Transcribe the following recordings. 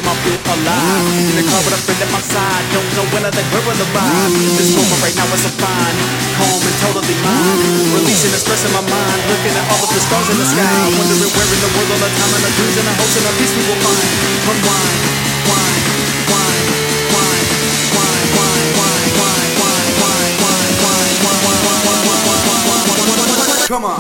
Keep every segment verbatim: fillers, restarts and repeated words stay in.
freedom I feel alive. In the car with a friend at my side, don't know when I think where will arrive. This moment right now is so fine, calm and totally mine. Releasing the stress in my mind, looking at all of the stars in the sky, wondering where in the world all the time and the dreams and the hopes and the peace we will find. Unwind, wine, wine, wine, wine, wine, wine, wine, wine, wine, wine, wine, wine, wine, wine, wine, wine. Come on.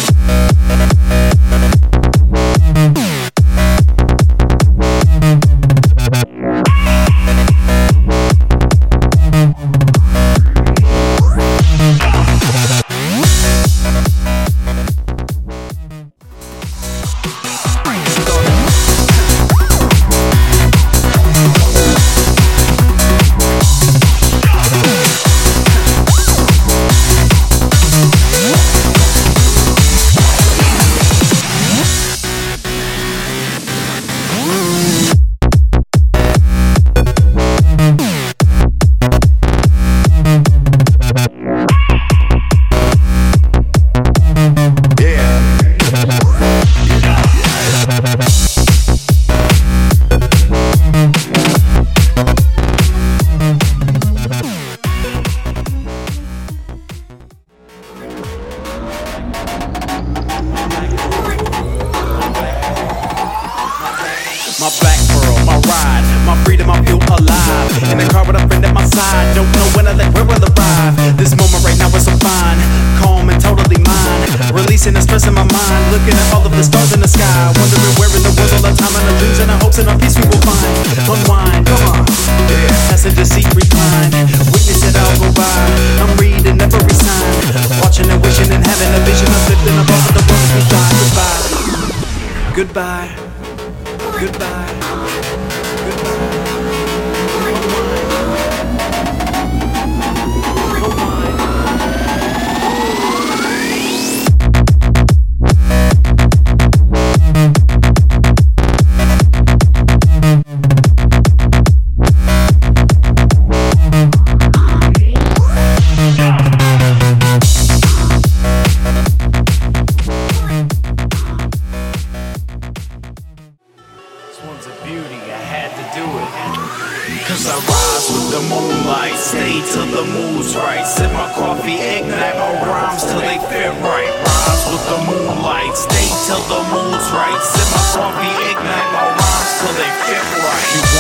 My black pearl, my ride, my freedom, I feel alive. In the car with a friend at my side, don't know when I think where will arrive. This moment right now is so fine, calm and totally mine. Releasing the stress in my mind, looking at all of the stars in the sky, wondering where in the world all the time and the dreams and the hopes and the peace we will find. Unwind, come on, yeah. Passenger seat recline, witness it all go by. I'm reading every sign, watching and wishing and having a vision of lifting above the world we fly. Goodbye, goodbye. Goodbye. One's a beauty, I had to do it. Cause I rise with the moonlight, stay till the mood's right. Sip my coffee, ignite my rhymes till they fit right. Rise with the moonlight, stay till the mood's right. Sip my coffee, ignite my rhymes till they fit right.